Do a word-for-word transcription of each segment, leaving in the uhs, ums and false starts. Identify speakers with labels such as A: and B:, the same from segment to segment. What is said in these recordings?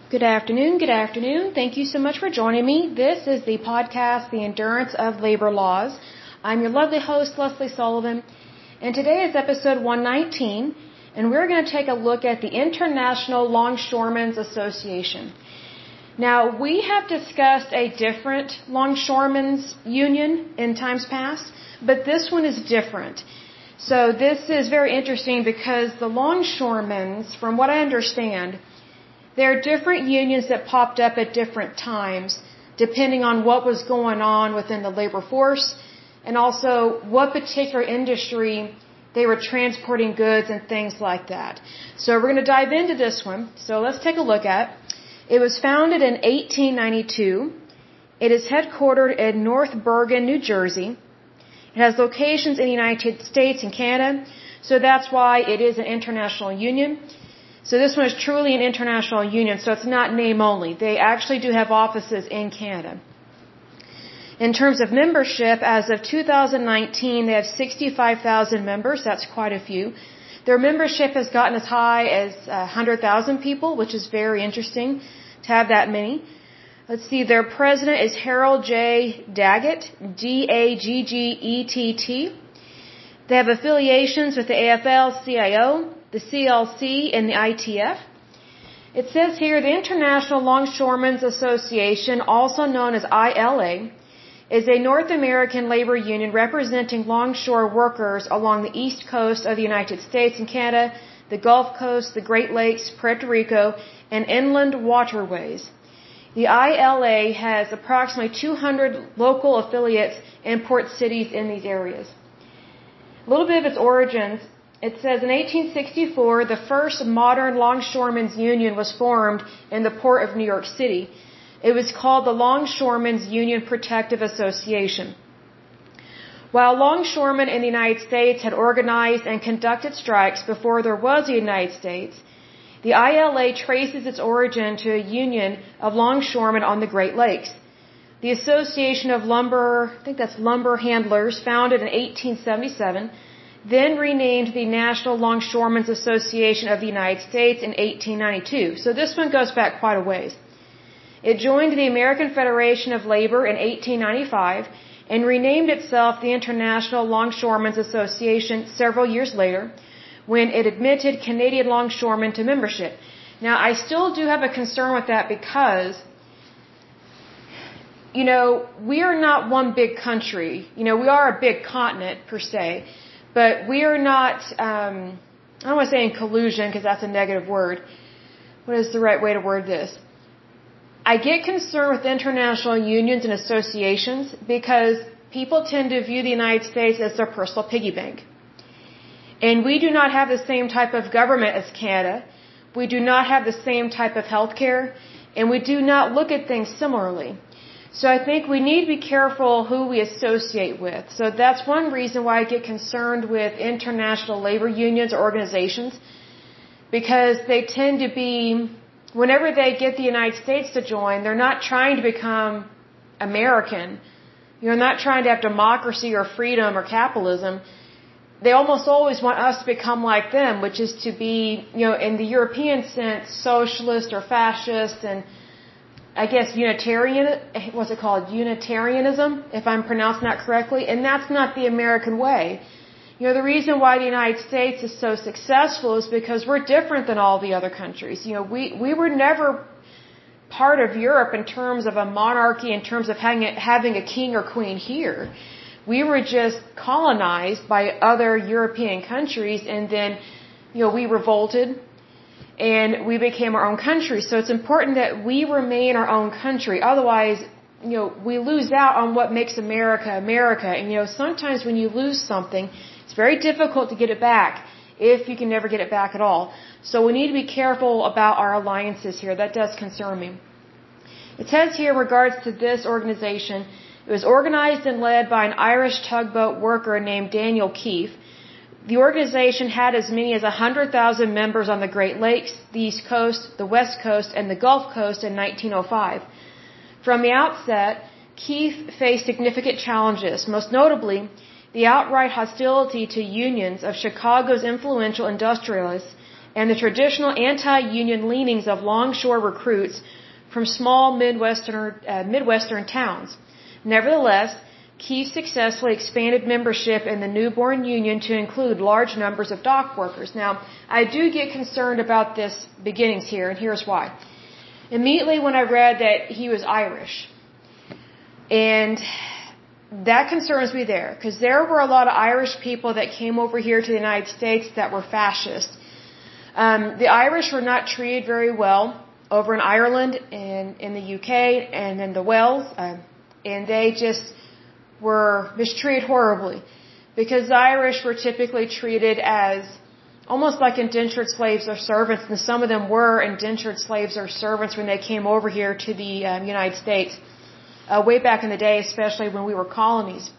A: Good afternoon, good afternoon. Thank you so much for joining me. This is the podcast, The Endurance of Labor Laws. I'm your lovely host, Leslie Sullivan, and today is episode one nineteen, and we're going to take a look at the International Longshoremen's Association. Now, we have discussed a different longshoremen's union in times past, but this one is different. So this is very interesting because the longshoremen's, from what I understand, there are different unions that popped up at different times, depending on what was going on within the labor force, and also what particular industry they were transporting goods and things like that. So we're going to dive into this one. So let's take a look at. It was founded in eighteen ninety-two. It is headquartered in North Bergen, New Jersey. It has locations in the United States and Canada, so that's why it is an international union. So this one is truly an international union, so it's not name only. They actually do have offices in Canada. In terms of membership, as of two thousand nineteen, they have sixty-five thousand members. That's quite a few. Their membership has gotten as high as one hundred thousand people, which is very interesting to have that many. Let's see, their president is Harold J. Daggett, D A G G E T T. They have affiliations with the A F L C I O, the C L C, and the I T F. It says here, the International Longshoremen's Association, also known as I L A, is a North American labor union representing longshore workers along the east coast of the United States and Canada, the Gulf Coast, the Great Lakes, Puerto Rico, and inland waterways. The I L A has approximately two hundred local affiliates in port cities in these areas. A little bit of its origins. It says in eighteen sixty-four, the first modern longshoremen's union was formed in the port of New York City. It was called the Longshoremen's Union Protective Association. While longshoremen in the United States had organized and conducted strikes before there was a United States, the I L A traces its origin to a union of longshoremen on the Great Lakes. The Association of Lumber, I think that's Lumber Handlers, founded in eighteen seventy-seven, then renamed the National Longshoremen's Association of the United States in eighteen ninety-two. So this one goes back quite a ways. It joined the American Federation of Labor in eighteen ninety-five and renamed itself the International Longshoremen's Association several years later when it admitted Canadian longshoremen to membership. Now, I still do have a concern with that because, you know, we are not one big country. You know, we are a big continent per se, but we are not, um, I don't want to say in collusion because that's a negative word. What is the right way to word this? I get concerned with international unions and associations because people tend to view the United States as their personal piggy bank. And we do not have the same type of government as Canada. We do not have the same type of health care. And we do not look at things similarly. So I think we need to be careful who we associate with. So that's one reason why I get concerned with international labor unions or organizations, because they tend to be, whenever they get the United States to join, they're not trying to become American. You're not trying to have democracy or freedom or capitalism. They almost always want us to become like them, which is to be, you know, in the European sense, socialist or fascist and I guess Unitarian, what's it called? Unitarianism, if I'm pronouncing that correctly. And that's not the American way. You know, the reason why the United States is so successful is because we're different than all the other countries. You know, we, we were never part of Europe in terms of a monarchy, in terms of having a, having a king or queen here. We were just colonized by other European countries, and then, you know, we revolted and we became our own country. So it's important that we remain our own country. Otherwise, you know, we lose out on what makes America America. And, you know, sometimes when you lose something, it's very difficult to get it back, if you can never get it back at all. So we need to be careful about our alliances here. That does concern me. It says here in regards to this organization, it was organized and led by an Irish tugboat worker named Daniel Keefe. The organization had as many as one hundred thousand members on the Great Lakes, the East Coast, the West Coast, and the Gulf Coast in nineteen oh five. From the outset, Keefe faced significant challenges, most notably the outright hostility to unions of Chicago's influential industrialists and the traditional anti-union leanings of longshore recruits from small Midwestern, uh, Midwestern towns. Nevertheless, Keefe successfully expanded membership in the newborn union to include large numbers of dock workers. Now, I do get concerned about this beginnings here, and here's why. Immediately when I read that he was Irish, and that concerns me there, because there were a lot of Irish people that came over here to the United States that were fascist. Um, the Irish were not treated very well over in Ireland and in the U K and in the Wales, uh, and they just were mistreated horribly, because the Irish were typically treated as almost like indentured slaves or servants, and some of them were indentured slaves or servants when they came over here to the um, United States, uh, way back in the day, especially when we were colonies.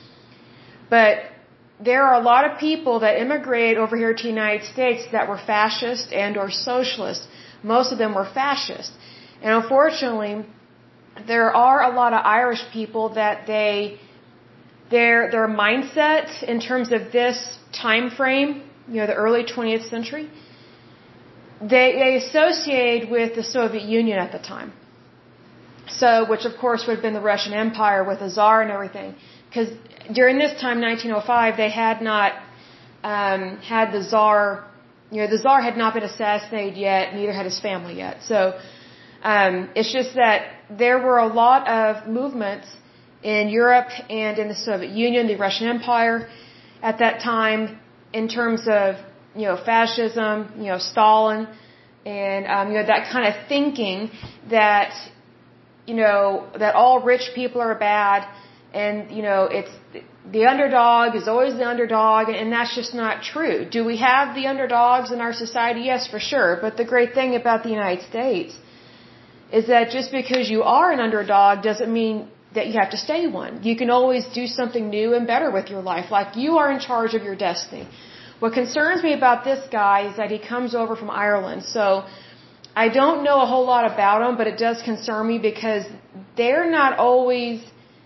A: But there are a lot of people that immigrated over here to the United States that were fascist and or socialist. Most of them were fascist. And unfortunately, there are a lot of Irish people that they Their their mindset in terms of this time frame, you know, the early twentieth century, they they associate with the Soviet Union at the time. So, which of course would have been the Russian Empire with the Tsar and everything, because during this time, nineteen oh five, they had not um, had the Tsar. You know, the Tsar had not been assassinated yet, neither had his family yet. So, um, it's just that there were a lot of movements in Europe and in the Soviet Union, the Russian Empire, at that time, in terms of, you know, fascism, you know, Stalin, and, um, you know, that kind of thinking that, you know, that all rich people are bad, and, you know, it's, the underdog is always the underdog, and that's just not true. Do we have the underdogs in our society? Yes, for sure. But the great thing about the United States is that just because you are an underdog doesn't mean that you have to stay one. You can always do something new and better with your life, like you are in charge of your destiny. What concerns me about this guy is that he comes over from Ireland. So I don't know a whole lot about him, but it does concern me because they're not always,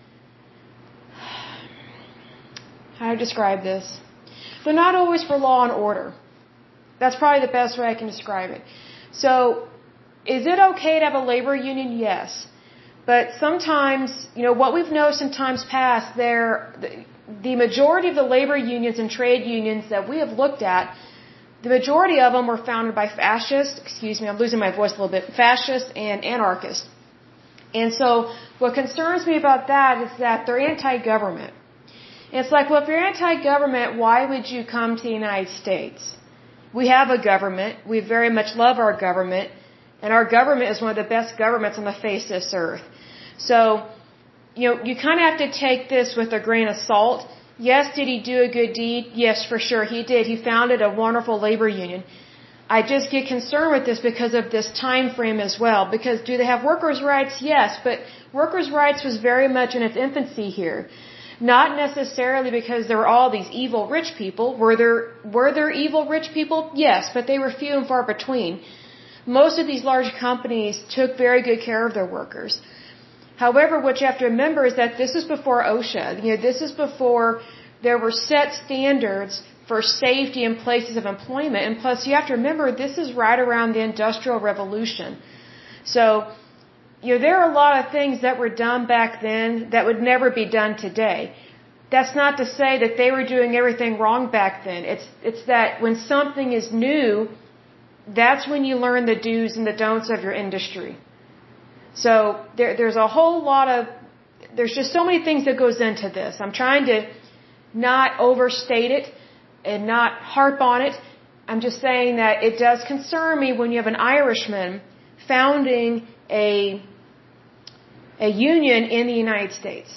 A: how do I describe this? They're not always for law and order. That's probably the best way I can describe it. So is it okay to have a labor union? Yes. But sometimes, you know, what we've noticed in times past, there, the majority of the labor unions and trade unions that we have looked at, the majority of them were founded by fascists, excuse me, I'm losing my voice a little bit, fascists and anarchists. And so what concerns me about that is that they're anti-government. It's like, well, if you're anti-government, why would you come to the United States? We have a government. We very much love our government. And our government is one of the best governments on the face of this earth. So, you know, you kind of have to take this with a grain of salt. Yes, did he do a good deed? Yes, for sure he did. He founded a wonderful labor union. I just get concerned with this because of this time frame as well. Because do they have workers' rights? Yes, but workers' rights was very much in its infancy here. Not necessarily because there were all these evil rich people. Were there, were there evil rich people? Yes, but they were few and far between. Most of these large companies took very good care of their workers. However, what you have to remember is that this is before OSHA. You know, this is before there were set standards for safety in places of employment. And plus, you have to remember, this is right around the Industrial Revolution. So, you know, there are a lot of things that were done back then that would never be done today. That's not to say that they were doing everything wrong back then. It's, it's that when something is new, that's when you learn the do's and the don'ts of your industry. So there, there's a whole lot of, there's just so many things that goes into this. I'm trying to not overstate it and not harp on it. I'm just saying that it does concern me when you have an Irishman founding a, a union in the United States.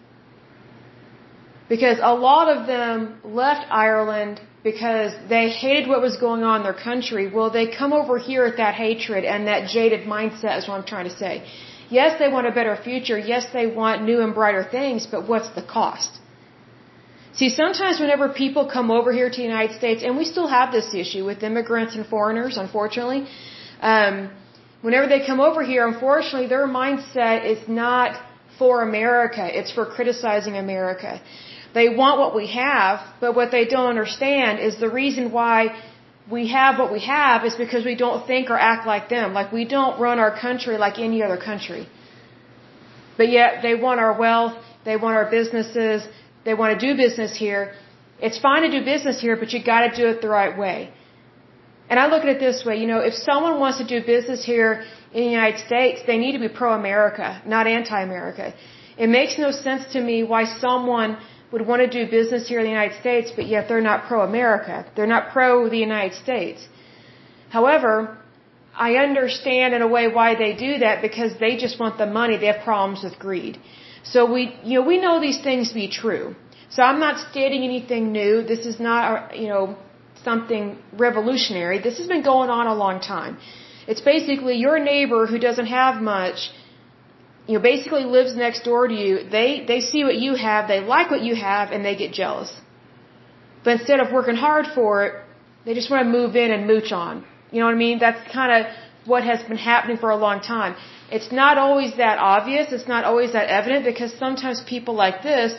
A: Because a lot of them left Ireland because they hated what was going on in their country. Well, they come over here at that hatred and that jaded mindset is what I'm trying to say. Yes, they want a better future. Yes, they want new and brighter things, but what's the cost? See, sometimes whenever people come over here to the United States, and we still have this issue with immigrants and foreigners, unfortunately, um, whenever they come over here, unfortunately, their mindset is not for America. It's for criticizing America. They want what we have, but what they don't understand is the reason why we have what we have is because we don't think or act like them. Like we don't run our country like any other country. But yet they want our wealth, they want our businesses, they want to do business here. It's fine to do business here, but you got to do it the right way. And I look at it this way, you know, if someone wants to do business here in the United States, they need to be pro-America, not anti-America. It makes no sense to me why someone would want to do business here in the United States, but yet they're not pro-America. They're not pro the United States. However, I understand in a way why they do that, because they just want the money. They have problems with greed. So we, you know, we know these things to be true. So I'm not stating anything new. This is not, you know, something revolutionary. This has been going on a long time. It's basically your neighbor who doesn't have much, you know, basically lives next door to you. They, they see what you have, they like what you have, and they get jealous. But instead of working hard for it, they just want to move in and mooch on. You know what I mean? That's kind of what has been happening for a long time. It's not always that obvious. It's not always that evident, because sometimes people like this,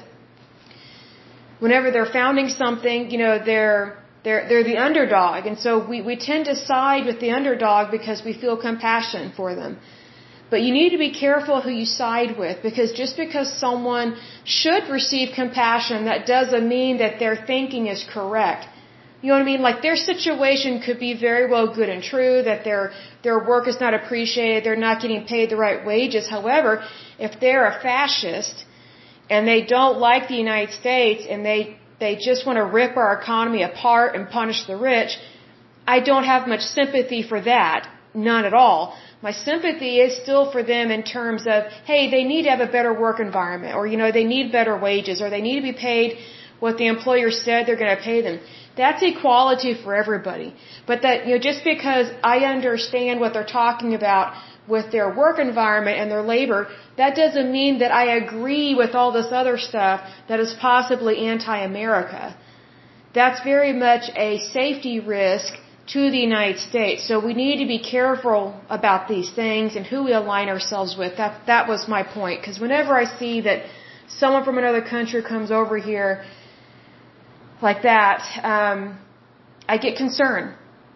A: whenever they're founding something, you know, they're, they're, they're the underdog. And so we, we tend to side with the underdog because we feel compassion for them. But you need to be careful who you side with, because just because someone should receive compassion, that doesn't mean that their thinking is correct. You know what I mean? Like their situation could be very well good and true, that their their work is not appreciated, they're not getting paid the right wages. However, if they're a fascist and they don't like the United States and they, they just want to rip our economy apart and punish the rich, I don't have much sympathy for that. None at all. My sympathy is still for them in terms of, hey, they need to have a better work environment, or, you know, they need better wages, or they need to be paid what the employer said they're going to pay them. That's equality for everybody. But that, you know, just because I understand what they're talking about with their work environment and their labor, that doesn't mean that I agree with all this other stuff that is possibly anti-America. That's very much a safety risk to the United States. So we need to be careful about these things and who we align ourselves with. That, that was my point. Because whenever I see that someone from another country comes over here like that, um, I get concerned.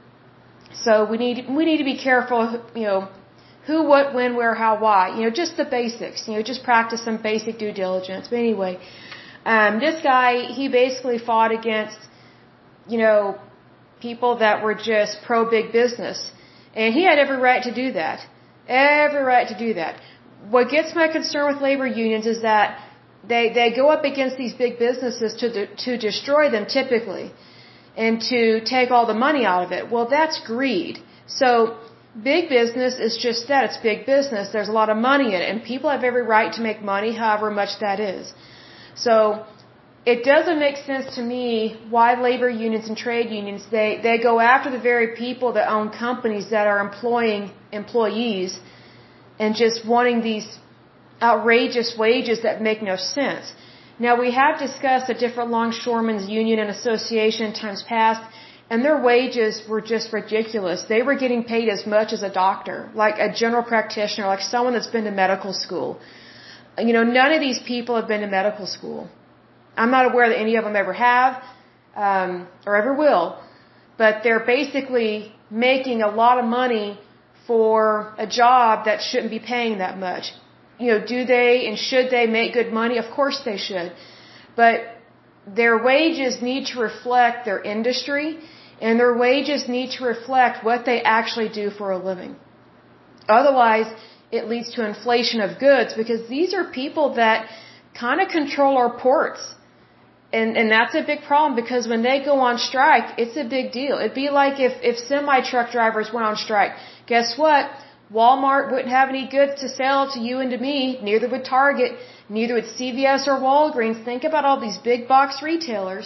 A: So we need, we need to be careful, you know, who, what, when, where, how, why. You know, just the basics. You know, just practice some basic due diligence. But anyway, um, this guy, he basically fought against, you know, people that were just pro-big business. And he had every right to do that. Every right to do that. What gets my concern with labor unions is that they, they go up against these big businesses to, de, to destroy them typically, and to take all the money out of it. Well, that's greed. So big business is just that. It's big business. There's a lot of money in it, and people have every right to make money, however much that is. So it doesn't make sense to me why labor unions and trade unions, they, they go after the very people that own companies that are employing employees and just wanting these outrageous wages that make no sense. Now, we have discussed a different longshoremen's union and association in times past, and their wages were just ridiculous. They were getting paid as much as a doctor, like a general practitioner, like someone that's been to medical school. You know, none of these people have been to medical school. I'm not aware that any of them ever have, um, or ever will, but they're basically making a lot of money for a job that shouldn't be paying that much. You know, do they and should they make good money? Of course they should. But their wages need to reflect their industry, and their wages need to reflect what they actually do for a living. Otherwise, it leads to inflation of goods, because these are people that kind of control our ports. And, and that's a big problem, because when they go on strike, it's a big deal. It'd be like if, if semi-truck drivers went on strike. Guess what? Walmart wouldn't have any goods to sell to you and to me, neither would Target, neither would C V S or Walgreens. Think about all these big box retailers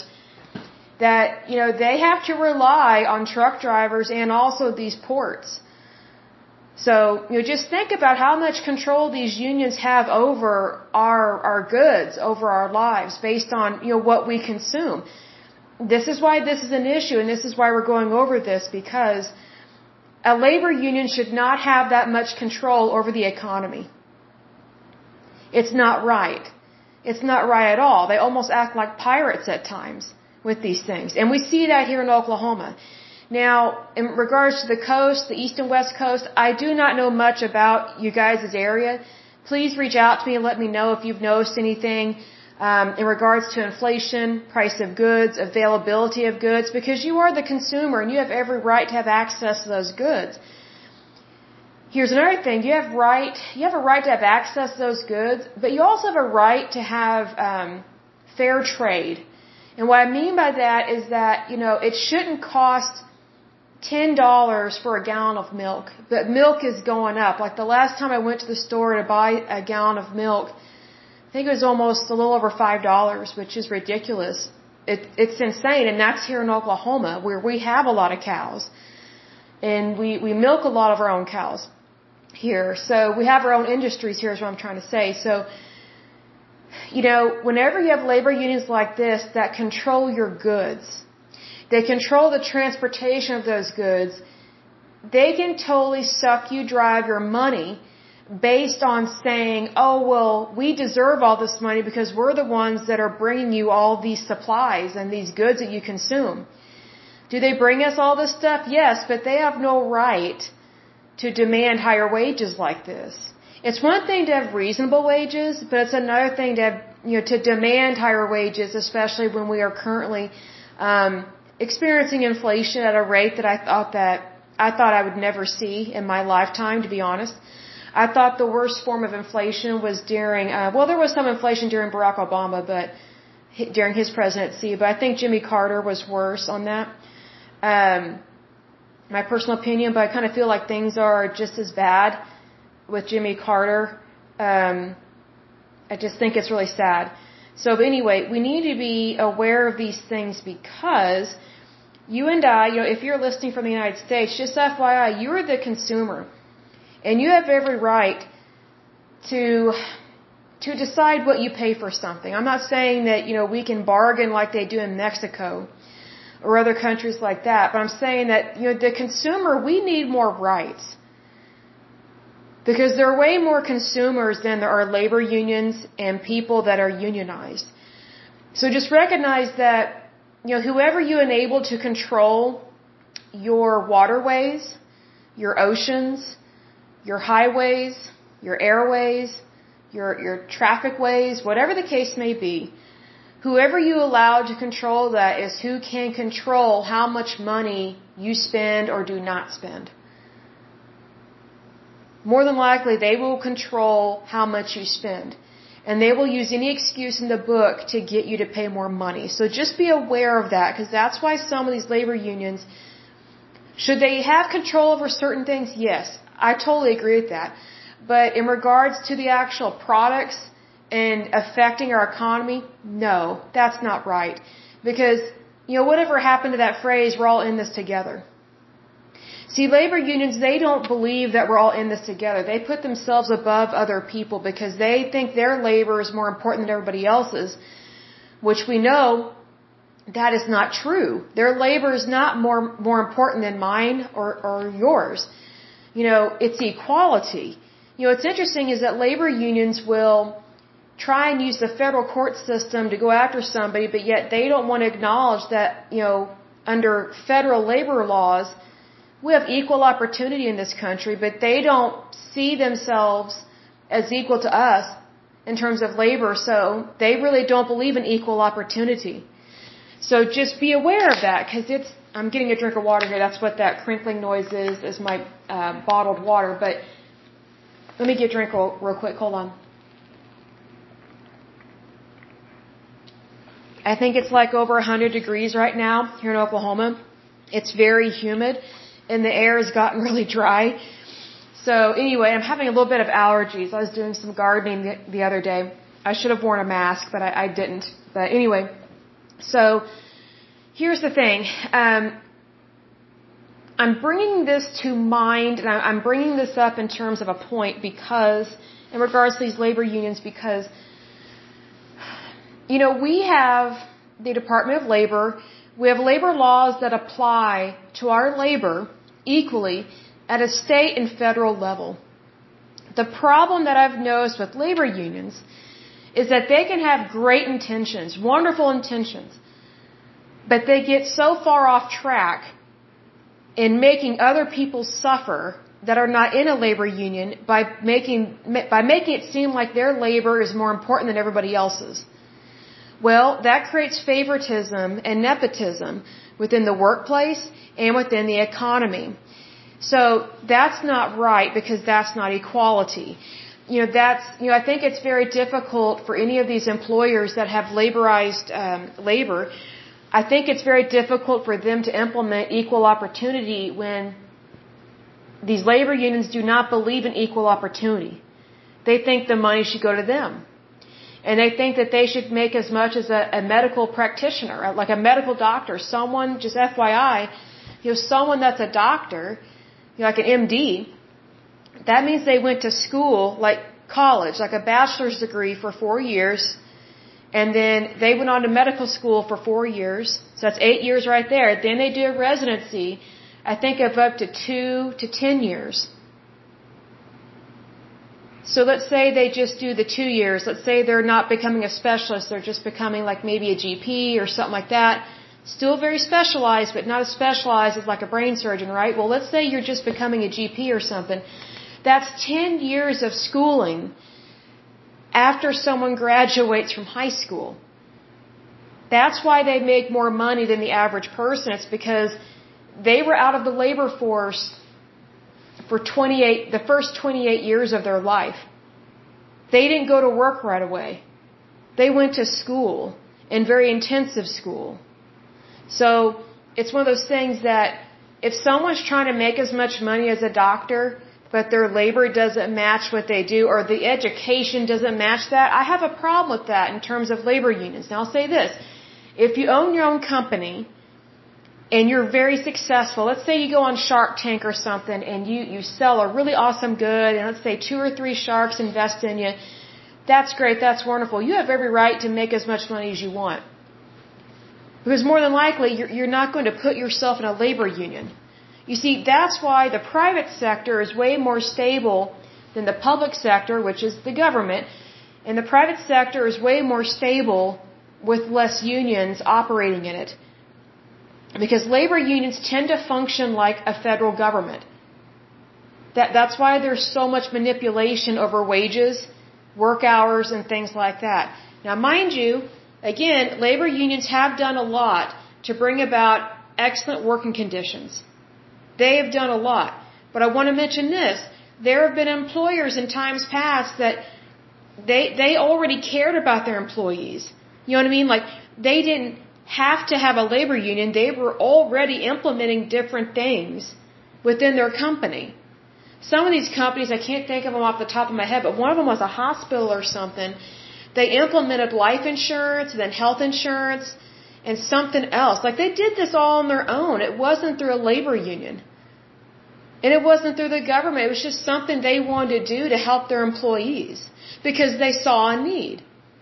A: that, you know, they have to rely on truck drivers and also these ports. So, you know, just think about how much control these unions have over our, our goods, over our lives, based on, you know, what we consume. This is why this is an issue, and this is why we're going over this, because a labor union should not have that much control over the economy. It's not right. It's not right at all. They almost act like pirates at times with these things. And we see that here in Oklahoma. Now, in regards to the coast, the east and west coast, I do not know much about you guys' area. Please reach out to me and let me know if you've noticed anything um, in regards to inflation, price of goods, availability of goods, because you are the consumer and you have every right to have access to those goods. Here's another thing: you have right, you have a right to have access to those goods, but you also have a right to have um, fair trade. And what I mean by that is that, you know, it shouldn't cost ten dollars for a gallon of milk, but milk is going up. Like the last time I went to the store to buy a gallon of milk, I think it was almost a little over five dollars, which is ridiculous. It, it's insane, and that's here in Oklahoma, where we have a lot of cows, and we, we milk a lot of our own cows here. So we have our own industries here is what I'm trying to say. So, you know, whenever you have labor unions like this that control your goods, they control the transportation of those goods, they can totally suck you dry of your money based on saying, oh, well, we deserve all this money because we're the ones that are bringing you all these supplies and these goods that you consume. Do they bring us all this stuff? Yes, but they have no right to demand higher wages like this. It's one thing to have reasonable wages, but it's another thing to have, you know, to demand higher wages, especially when we are currently um, experiencing inflation at a rate that I thought that I thought I would never see in my lifetime, to be honest. I thought the worst form of inflation was during, uh, well, there was some inflation during Barack Obama, but during his presidency, but I think Jimmy Carter was worse on that. Um, my personal opinion, but I kind of feel like things are just as bad with Jimmy Carter. Um, I just think it's really sad. So but anyway, we need to be aware of these things because you and I, you know, if you're listening from the United States, just F Y I, you're the consumer. And you have every right to to decide what you pay for something. I'm not saying that, you know, we can bargain like they do in Mexico or other countries like that, but I'm saying that, you know, the consumer, we need more rights. Because there are way more consumers than there are labor unions and people that are unionized. So just recognize that, you know, whoever you enable to control your waterways, your oceans, your highways, your airways, your, your traffic ways, whatever the case may be, whoever you allow to control that is who can control how much money you spend or do not spend. More than likely, they will control how much you spend. And they will use any excuse in the book to get you to pay more money. So just be aware of that, because that's why some of these labor unions, should they have control over certain things? Yes, I totally agree with that. But in regards to the actual products and affecting our economy, no, that's not right. Because, you know, whatever happened to that phrase, we're all in this together. See, labor unions, they don't believe that we're all in this together. They put themselves above other people because they think their labor is more important than everybody else's, which we know that is not true. Their labor is not more more important than mine or, or yours. You know, it's equality. You know, what's interesting is that labor unions will try and use the federal court system to go after somebody, but yet they don't want to acknowledge that, you know, under federal labor laws, we have equal opportunity in this country, but they don't see themselves as equal to us in terms of labor, so they really don't believe in equal opportunity. So just be aware of that, because it's, I'm getting a drink of water here, that's what that crinkling noise is, is my uh, bottled water, but let me get a drink real, real quick, hold on. I think it's like over one hundred degrees right now here in Oklahoma. It's very humid. And the air has gotten really dry. So anyway, I'm having a little bit of allergies. I was doing some gardening the, the other day. I should have worn a mask, but I, I didn't. But anyway, so here's the thing. Um, I'm bringing this to mind, and I'm bringing this up in terms of a point because, in regards to these labor unions, because, you know, we have the Department of Labor. We have labor laws that apply to our labor equally at a state and federal level. The problem that I've noticed with labor unions is that they can have great intentions, wonderful intentions, but they get so far off track in making other people suffer that are not in a labor union by making by making it seem like their labor is more important than everybody else's. Well, that creates favoritism and nepotism within the workplace and within the economy. So that's not right, because that's not equality. You know, that's, you know, I think it's very difficult for any of these employers that have laborized um, labor. I think it's very difficult for them to implement equal opportunity when these labor unions do not believe in equal opportunity. They think the money should go to them. And they think that they should make as much as a, a medical practitioner, like a medical doctor, someone, just F Y I, you know, someone that's a doctor, you know, like an M D, that means they went to school, like college, like a bachelor's degree for four years, and then they went on to medical school for four years, so that's eight years right there. Then they do a residency, I think of up to two to ten years. So let's say they just do the two years. Let's say they're not becoming a specialist, they're just becoming like maybe a G P or something like that. Still very specialized, but not as specialized as like a brain surgeon, right? Well, let's say you're just becoming a G P or something. That's ten years of schooling after someone graduates from high school. That's why they make more money than the average person. It's because they were out of the labor force for twenty-eight, the first twenty-eight years of their life. They didn't go to work right away. They went to school, and very intensive school. So it's one of those things that if someone's trying to make as much money as a doctor, but their labor doesn't match what they do, or the education doesn't match that, I have a problem with that in terms of labor unions. Now I'll say this, if you own your own company, and you're very successful, let's say you go on Shark Tank or something, and you, you sell a really awesome good, and let's say two or three sharks invest in you, that's great, that's wonderful. You have every right to make as much money as you want. Because more than likely, you're, you're not going to put yourself in a labor union. You see, that's why the private sector is way more stable than the public sector, which is the government. And the private sector is way more stable with less unions operating in it. Because labor unions tend to function like a federal government. That, that's why there's so much manipulation over wages, work hours, and things like that. Now, mind you, again, labor unions have done a lot to bring about excellent working conditions. They have done a lot. But I want to mention this. There have been employers in times past that they, they already cared about their employees. You know what I mean? Like, they didn't have to have a labor union. They were already implementing different things within their company. Some of these companies, I can't think of them off the top of my head, but one of them was a hospital or something. They implemented life insurance, and then health insurance, and something else. Like, they did this all on their own. It wasn't through a labor union. And it wasn't through the government. It was just something they wanted to do to help their employees because they saw a need.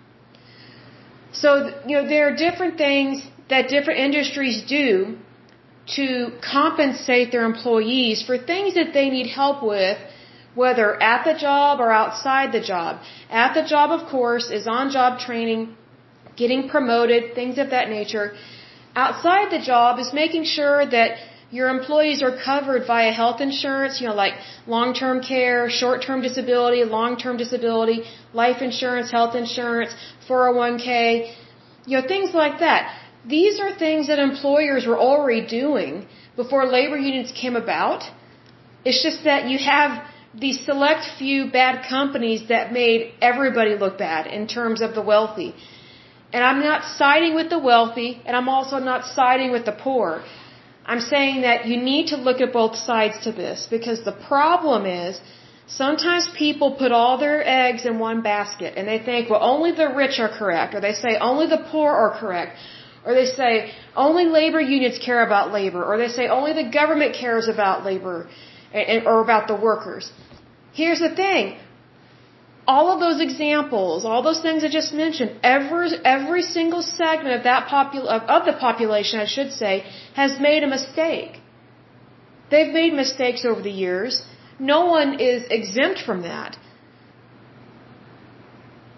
A: So, you know, there are different things that different industries do to compensate their employees for things that they need help with, whether at the job or outside the job. At the job, of course, is on-job training, getting promoted, things of that nature. Outside the job is making sure that your employees are covered via health insurance, you know, like long-term care, short-term disability, long-term disability, life insurance, health insurance, four oh one k, you know, things like that. These are things that employers were already doing before labor unions came about. It's just that you have these select few bad companies that made everybody look bad in terms of the wealthy. And I'm not siding with the wealthy, and I'm also not siding with the poor. I'm saying that you need to look at both sides to this, because the problem is sometimes people put all their eggs in one basket and they think, well, only the rich are correct, or they say only the poor are correct, or they say only labor unions care about labor, or they say only the government cares about labor or about the workers. Here's the thing. All of those examples, all those things I just mentioned, every, every single segment of that popul- of, of the population, I should say, has made a mistake. They've made mistakes over the years. No one is exempt from that.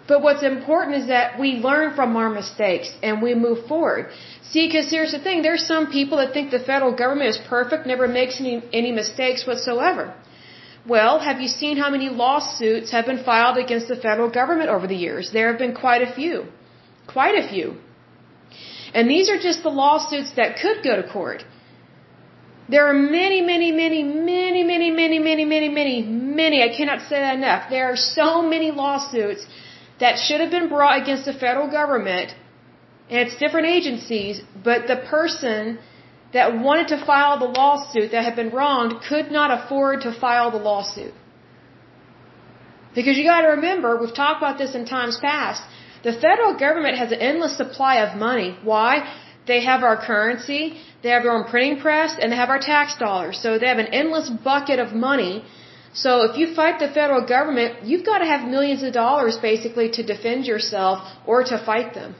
A: But what's important is that we learn from our mistakes and we move forward. See, because here's the thing, there's some people that think the federal government is perfect, never makes any, any mistakes whatsoever. Well, have you seen how many lawsuits have been filed against the federal government over the years? There have been quite a few. Quite a few. And these are just the lawsuits that could go to court. There are many, many, many, many, many, many, many, many, many, many, I cannot say that enough. There are so many lawsuits that should have been brought against the federal government and its different agencies, but the person that wanted to file the lawsuit that had been wronged could not afford to file the lawsuit. Because you got to remember, we've talked about this in times past, the federal government has an endless supply of money. Why? They have our currency, they have their own printing press, and they have our tax dollars. So they have an endless bucket of money. So if you fight the federal government, you've got to have millions of dollars basically to defend yourself or to fight them.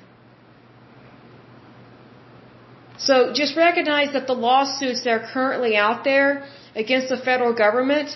A: So just recognize that the lawsuits that are currently out there against the federal government,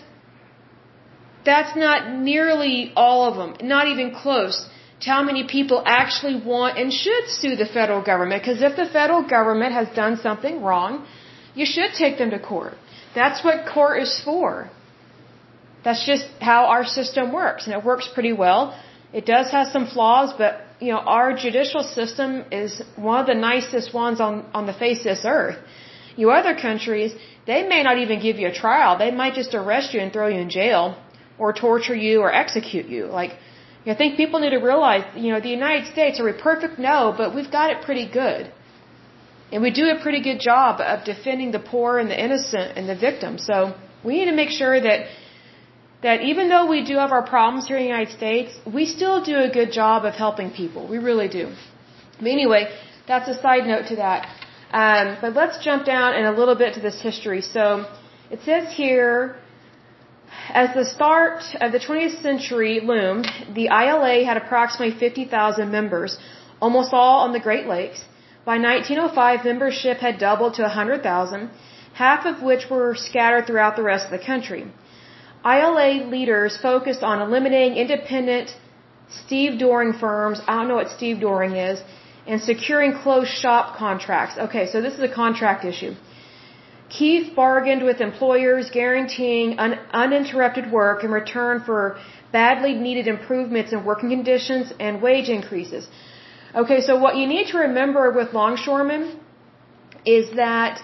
A: that's not nearly all of them, not even close to how many people actually want and should sue the federal government. Because if the federal government has done something wrong, you should take them to court. That's what court is for. That's just how our system works, and it works pretty well. It does have some flaws, but you know, our judicial system is one of the nicest ones on, on the face of this earth. You other countries, they may not even give you a trial. They might just arrest you and throw you in jail or torture you or execute you. Like, I think people need to realize, you know, the United States, are we perfect? No, but we've got it pretty good. And we do a pretty good job of defending the poor and the innocent and the victims. So we need to make sure that that even though we do have our problems here in the United States, we still do a good job of helping people. We really do. But anyway, that's a side note to that. Um, but let's jump down in a little bit to this history. So it says here, as the start of the twentieth century loomed, the I L A had approximately fifty thousand members, almost all on the Great Lakes. By nineteen oh five, membership had doubled to one hundred thousand, half of which were scattered throughout the rest of the country. I L A leaders focused on eliminating independent stevedoring firms, I don't know what stevedoring is, and securing closed shop contracts. Okay, so this is a contract issue. Keith bargained with employers, guaranteeing un- uninterrupted work in return for badly needed improvements in working conditions and wage increases. Okay, so what you need to remember with longshoremen is that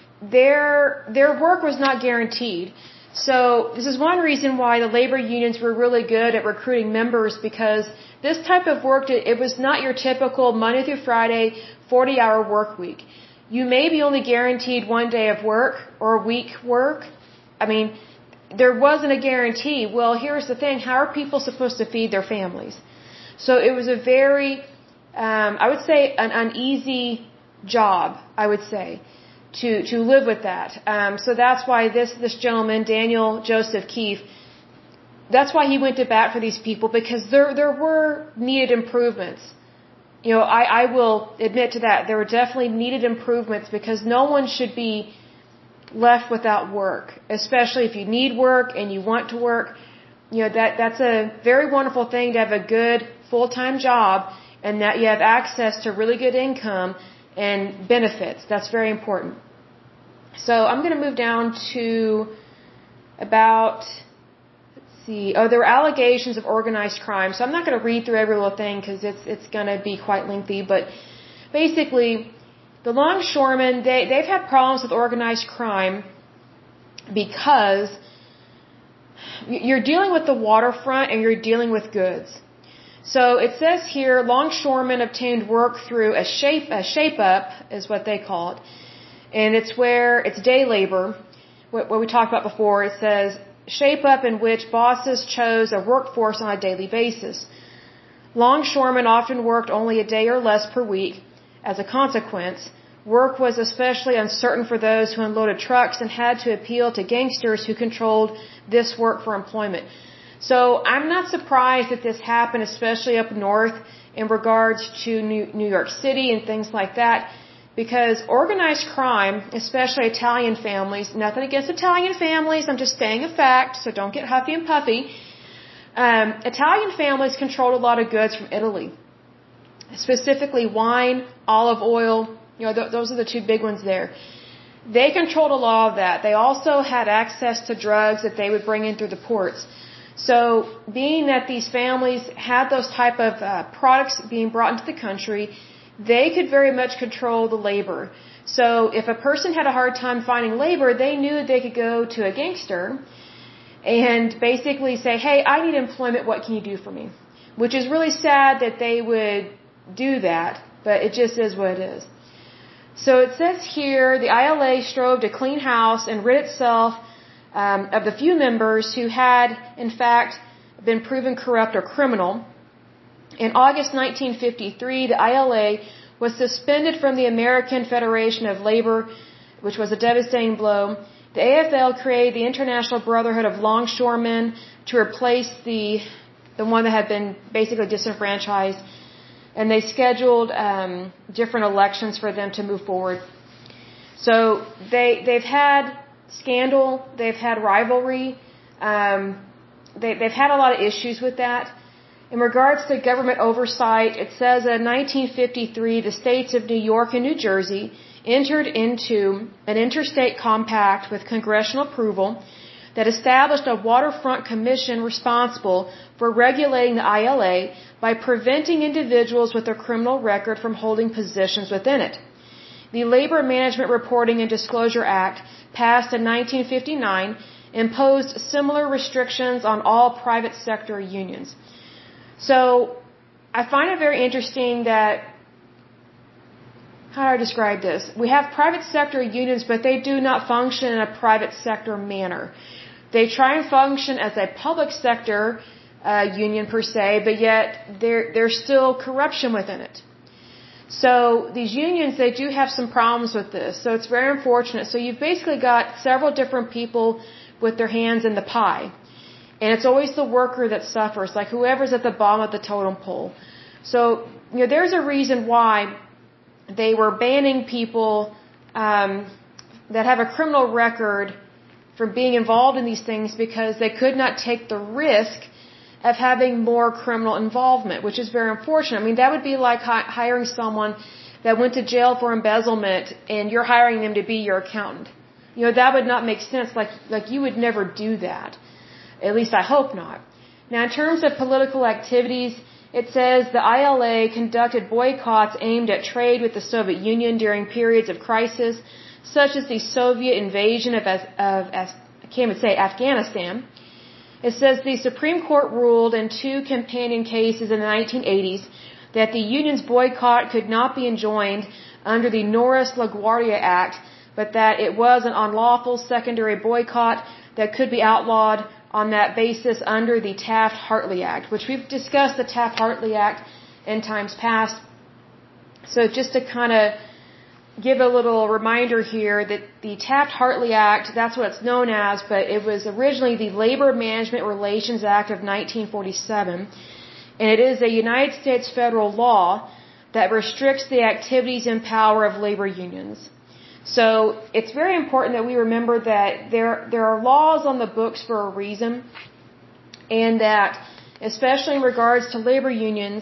A: their their work was not guaranteed. So this is one reason why the labor unions were really good at recruiting members, because this type of work, it was not your typical Monday through Friday forty-hour work week. You may be only guaranteed one day of work or a week work. I mean, there wasn't a guarantee. Well, here's the thing. How are people supposed to feed their families? So it was a very, um, I would say, an uneasy job, I would say, to, to live with that. Um, so that's why this, this gentleman, Daniel Joseph Keefe, that's why he went to bat for these people, because there, there were needed improvements. You know, I, I will admit to that. There were definitely needed improvements, because no one should be left without work, especially if you need work and you want to work. You know, that, that's a very wonderful thing to have a good full-time job and that you have access to really good income and benefits. That's very important. So I'm going to move down to about, let's see, oh, there were allegations of organized crime. So I'm not going to read through every little thing because it's, it's going to be quite lengthy. But basically, the longshoremen, they, they've had problems with organized crime because you're dealing with the waterfront and you're dealing with goods. So it says here, longshoremen obtained work through a shape, a shape up is what they call it. And it's where it's day labor, what, what we talked about before. It says shape up, in which bosses chose a workforce on a daily basis. Longshoremen often worked only a day or less per week. As a consequence, work was especially uncertain for those who unloaded trucks and had to appeal to gangsters who controlled this work for employment. So I'm not surprised that this happened, especially up north in regards to New York City and things like that, because organized crime, especially Italian families, nothing against Italian families, I'm just stating a fact, so don't get huffy and puffy, Um, Italian families controlled a lot of goods from Italy, specifically wine, olive oil. You know, th- those are the two big ones there. They controlled a lot of that. They also had access to drugs that they would bring in through the ports. So, being that these families had those type of uh, products being brought into the country, they could very much control the labor. So, if a person had a hard time finding labor, they knew they could go to a gangster and basically say, hey, I need employment, what can you do for me? Which is really sad that they would do that, but it just is what it is. So it says here, the I L A strove to clean house and rid itself um, of the few members who had, in fact, been proven corrupt or criminal. In August nineteen fifty-three, the I L A was suspended from the American Federation of Labor, which was a devastating blow. The A F L created the International Brotherhood of Longshoremen to replace the the one that had been basically disenfranchised, and they scheduled um, different elections for them to move forward. So they they've had scandal, they've had rivalry, um, they, they've had a lot of issues with that. In regards to government oversight, it says in nineteen fifty-three, the states of New York and New Jersey entered into an interstate compact with congressional approval that established a waterfront commission responsible for regulating the I L A by preventing individuals with a criminal record from holding positions within it. The Labor Management Reporting and Disclosure Act, passed in nineteen fifty-nine, imposed similar restrictions on all private sector unions. So, I find it very interesting that, how do I describe this? We have private sector unions, but they do not function in a private sector manner. They try and function as a public sector uh, union per se, but yet there there's still corruption within it. So these unions, they do have some problems with this. So it's very unfortunate. So you've basically got several different people with their hands in the pie. And it's always the worker that suffers, like whoever's at the bottom of the totem pole. So, you know, there's a reason why they were banning people um, that have a criminal record from being involved in these things, because they could not take the risk of having more criminal involvement, which is very unfortunate. I mean, that would be like hi- hiring someone that went to jail for embezzlement and you're hiring them to be your accountant. You know, that would not make sense. Like, like you would never do that. At least I hope not. Now, in terms of political activities, it says the I L A conducted boycotts aimed at trade with the Soviet Union during periods of crisis, such as the Soviet invasion of, of, of I can't even say, Afghanistan. It says the Supreme Court ruled in two companion cases in the nineteen eighties that the union's boycott could not be enjoined under the Norris LaGuardia Act, but that it was an unlawful secondary boycott that could be outlawed on that basis under the Taft-Hartley Act, which we've discussed the Taft-Hartley Act in times past. So just to kind of give a little reminder here that the Taft-Hartley Act, that's what it's known as, but it was originally the Labor Management Relations Act of nineteen forty-seven, and it is a United States federal law that restricts the activities and power of labor unions. So it's very important that we remember that there there are laws on the books for a reason, and that, especially in regards to labor unions,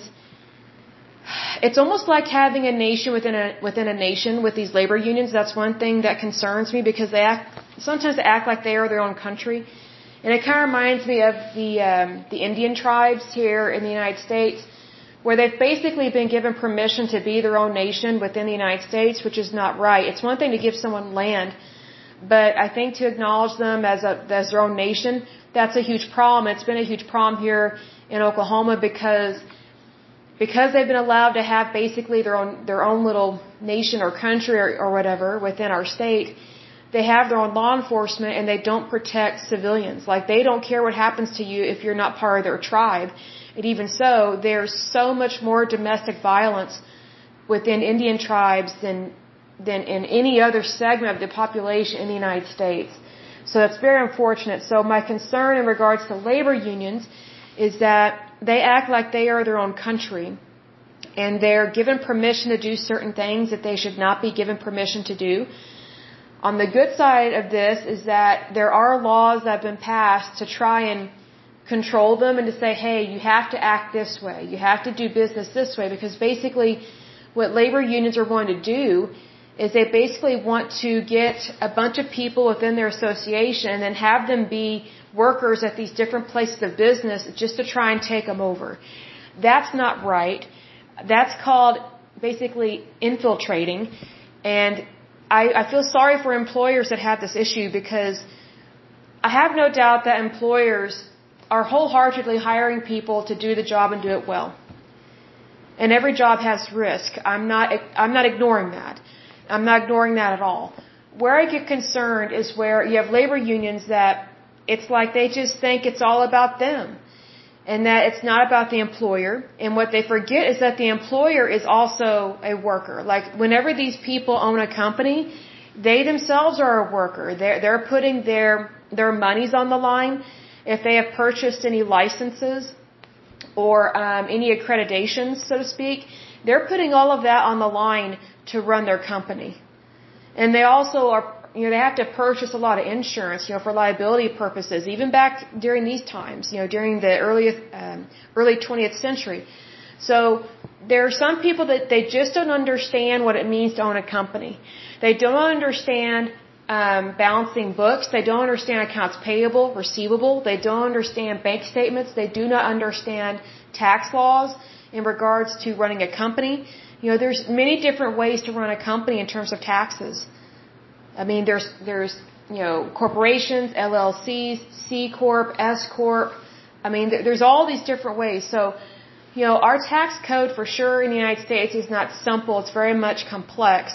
A: it's almost like having a nation within a within a nation with these labor unions. That's one thing that concerns me, because they act sometimes they act like they are their own country, and it kind of reminds me of the um, the Indian tribes here in the United States, where they've basically been given permission to be their own nation within the United States, which is not right. It's one thing to give someone land, but I think to acknowledge them as a as their own nation, that's a huge problem. It's been a huge problem here in Oklahoma, because because they've been allowed to have basically their own their own little nation or country or, or whatever within our state. They have their own law enforcement, and they don't protect civilians. Like, they don't care what happens to you if you're not part of their tribe. And even so, there's so much more domestic violence within Indian tribes than than in any other segment of the population in the United States. So that's very unfortunate. So my concern in regards to labor unions is that they act like they are their own country, and they're given permission to do certain things that they should not be given permission to do. On the good side of this is that there are laws that have been passed to try and control them and to say, hey, you have to act this way. You have to do business this way. Because basically what labor unions are going to do is they basically want to get a bunch of people within their association and then have them be workers at these different places of business just to try and take them over. That's not right. That's called basically infiltrating. And I, I feel sorry for employers that have this issue, because I have no doubt that employers are wholeheartedly hiring people to do the job and do it well. And every job has risk. I'm not, I'm not ignoring that. I'm not ignoring that at all. Where I get concerned is where you have labor unions that it's like they just think it's all about them, and that it's not about the employer. And what they forget is that the employer is also a worker. Like whenever these people own a company, they themselves are a worker. They're, they're putting their, their monies on the line. If they have purchased any licenses or um, any accreditations, so to speak, they're putting all of that on the line to run their company. And they also are, you know, they have to purchase a lot of insurance, you know, for liability purposes, even back during these times, you know, during the early, um, early twentieth century. So there are some people that they just don't understand what it means to own a company. They don't understand um, balancing books. They don't understand accounts payable, receivable. They don't understand bank statements. They do not understand tax laws in regards to running a company. You know, there's many different ways to run a company in terms of taxes. I mean, there's, there's, you know, corporations, L L Cs, C Corp, S Corp. I mean, there's all these different ways. So, you know, our tax code for sure in the United States is not simple. It's very much complex.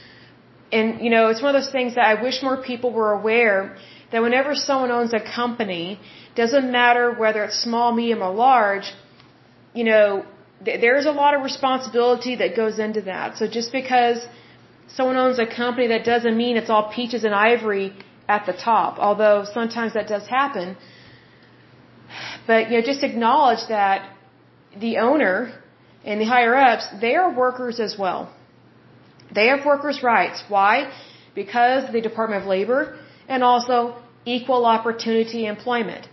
A: And, you know, it's one of those things that I wish more people were aware that whenever someone owns a company, doesn't matter whether it's small, medium, or large, you know, there's a lot of responsibility that goes into that. So just because someone owns a company, that doesn't mean it's all peaches and ivory at the top, although sometimes that does happen. But, you know, just acknowledge that the owner and the higher-ups, they are workers as well. They have workers' rights. Why? Because of the Department of Labor and also equal opportunity employment.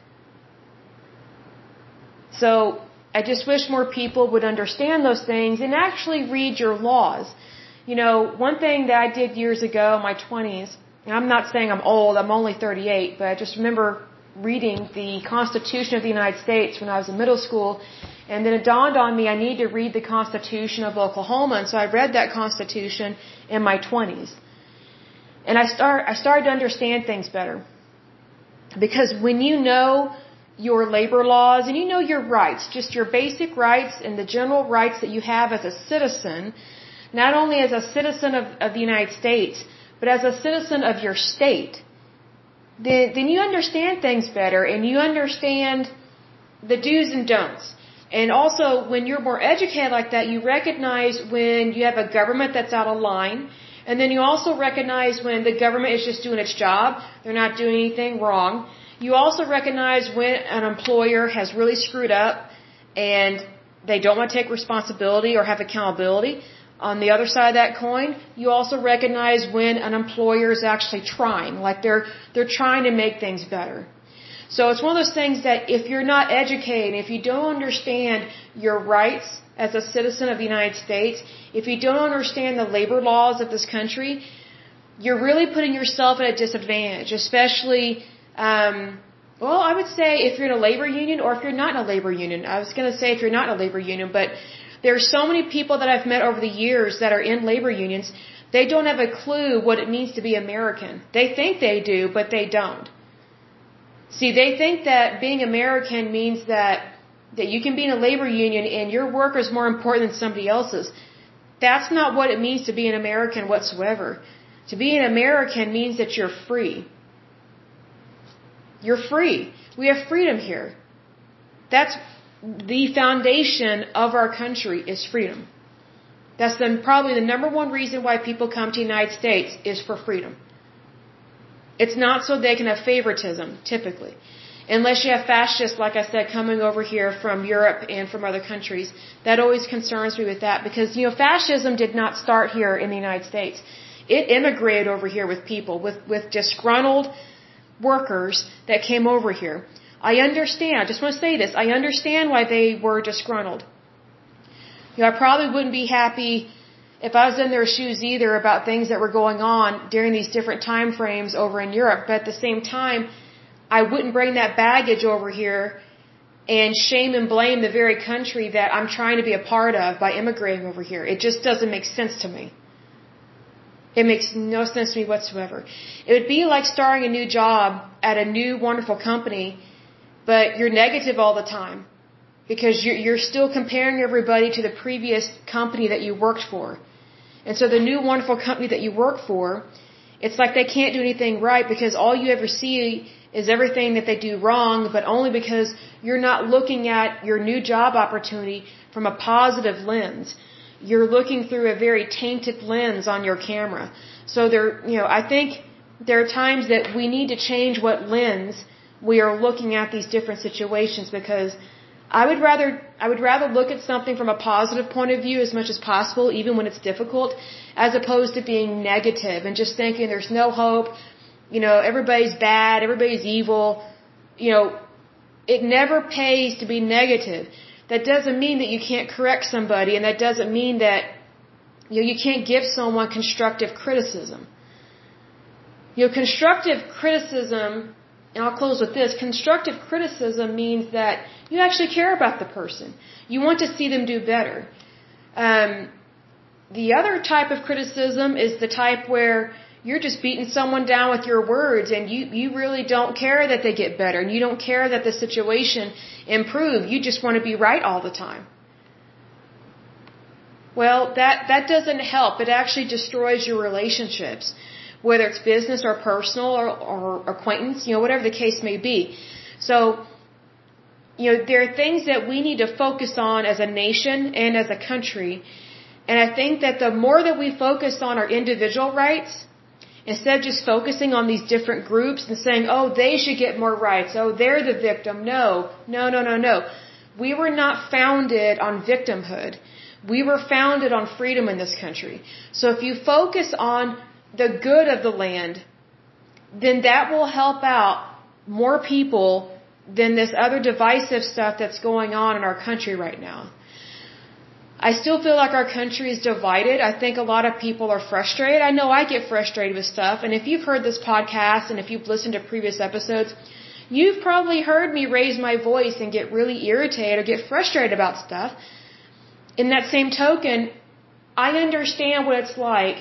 A: So I just wish more people would understand those things and actually read your laws. You know, one thing that I did years ago in my twenties, and I'm not saying I'm old, I'm only thirty-eight, but I just remember reading the Constitution of the United States when I was in middle school, and then it dawned on me I need to read the Constitution of Oklahoma, and so I read that Constitution in my twenties. And I start, I started to understand things better. Because when you know your labor laws and you know your rights, just your basic rights and the general rights that you have as a citizen, not only as a citizen of, of the United States, but as a citizen of your state, then, then you understand things better and you understand the do's and don'ts. And also, when you're more educated like that, you recognize when you have a government that's out of line, and then you also recognize when the government is just doing its job, they're not doing anything wrong. You also recognize when an employer has really screwed up and they don't want to take responsibility or have accountability. On the other side of that coin, you also recognize when an employer is actually trying, like they're they're trying to make things better. So it's one of those things that if you're not educated, if you don't understand your rights as a citizen of the United States, if you don't understand the labor laws of this country, you're really putting yourself at a disadvantage, especially, um, well, I would say if you're in a labor union or if you're not in a labor union. I was going to say if you're not in a labor union, but there are so many people that I've met over the years that are in labor unions, they don't have a clue what it means to be American. They think they do, but they don't. See, they think that being American means that that you can be in a labor union and your work is more important than somebody else's. That's not what it means to be an American whatsoever. To be an American means that you're free. You're free. We have freedom here. That's the foundation of our country is freedom. That's the, probably the number one reason why people come to the United States is for freedom. It's not so they can have favoritism, typically. Unless you have fascists, like I said, coming over here from Europe and from other countries. That always concerns me with that because, you know, fascism did not start here in the United States. It immigrated over here with people, with, with disgruntled workers that came over here. I understand. I just want to say this. I understand why they were disgruntled. You know, I probably wouldn't be happy if I was in their shoes either about things that were going on during these different time frames over in Europe. But at the same time, I wouldn't bring that baggage over here and shame and blame the very country that I'm trying to be a part of by immigrating over here. It just doesn't make sense to me. It makes no sense to me whatsoever. It would be like starting a new job at a new wonderful company, but you're negative all the time because you're, you're still comparing everybody to the previous company that you worked for. And so the new wonderful company that you work for, it's like they can't do anything right because all you ever see is everything that they do wrong, but only because you're not looking at your new job opportunity from a positive lens. You're looking through a very tainted lens on your camera. So there, you know, I think there are times that we need to change what lens we are looking at these different situations, because I would rather, I would rather look at something from a positive point of view as much as possible, even when it's difficult, as opposed to being negative and just thinking there's no hope. You know, everybody's bad, everybody's evil. You know, it never pays to be negative. That doesn't mean that you can't correct somebody, and that doesn't mean that, you know, you can't give someone constructive criticism. You know, constructive criticism, and I'll close with this, constructive criticism means that you actually care about the person. You want to see them do better. Um, the other type of criticism is the type where you're just beating someone down with your words and you, you really don't care that they get better and you don't care that the situation improves. You just want to be right all the time. Well, that, that doesn't help. It actually destroys your relationships, whether it's business or personal or, or acquaintance, you know, whatever the case may be. So, you know, there are things that we need to focus on as a nation and as a country. And I think that the more that we focus on our individual rights, instead of just focusing on these different groups and saying, oh, they should get more rights. Oh, they're the victim. No, no, no, no, no. We were not founded on victimhood. We were founded on freedom in this country. So if you focus on the good of the land, then that will help out more people than this other divisive stuff that's going on in our country right now. I still feel like our country is divided. I think a lot of people are frustrated. I know I get frustrated with stuff. And if you've heard this podcast and if you've listened to previous episodes, you've probably heard me raise my voice and get really irritated or get frustrated about stuff. In that same token, I understand what it's like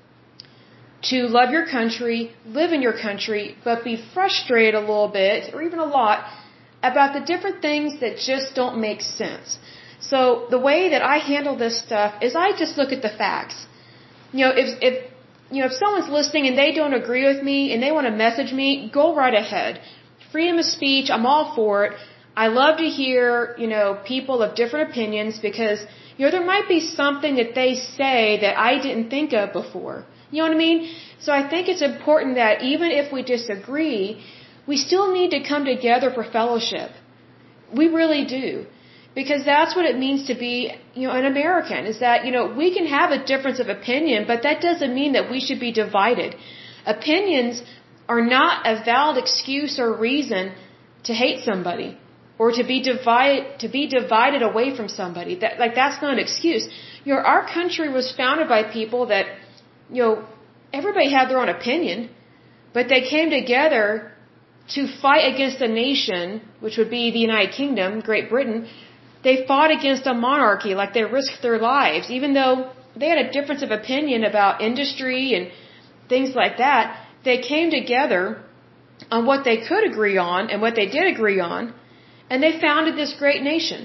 A: to love your country, live in your country, but be frustrated a little bit or even a lot about the different things that just don't make sense. So the way that I handle this stuff is I just look at the facts. You know, if if you know if someone's listening and they don't agree with me and they want to message me, go right ahead. Freedom of speech, I'm all for it. I love to hear, you know, people of different opinions because, you know, there might be something that they say that I didn't think of before. You know what I mean? So I think it's important that even if we disagree, we still need to come together for fellowship. We really do. Because that's what it means to be, you know, an American, is that, you know, we can have a difference of opinion, but that doesn't mean that we should be divided. Opinions are not a valid excuse or reason to hate somebody or to be divided, to be divided away from somebody. That, like, that's not an excuse. You know, our country was founded by people that, you know, everybody had their own opinion, but they came together to fight against a nation, which would be the United Kingdom, Great Britain. They fought against a monarchy, like they risked their lives, even though they had a difference of opinion about industry and things like that. They came together on what they could agree on and what they did agree on, and they founded this great nation.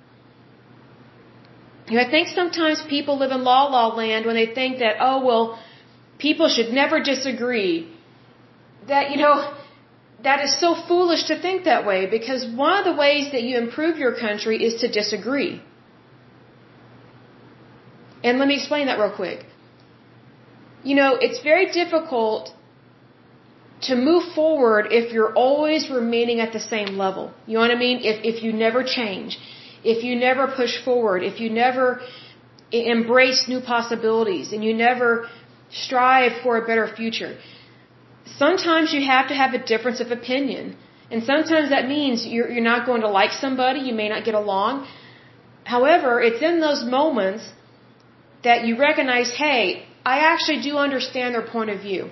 A: You know, I think sometimes people live in la la land when they think that, oh, well, people should never disagree. That, you know, that is so foolish to think that way, because one of the ways that you improve your country is to disagree. And let me explain that real quick. You know, it's very difficult to move forward if you're always remaining at the same level. You know what I mean? If, if you never change, if you never push forward, if you never embrace new possibilities, and you never strive for a better future. Sometimes you have to have a difference of opinion. And sometimes that means you're, you're not going to like somebody, you may not get along. However, it's in those moments that you recognize, hey, I actually do understand their point of view.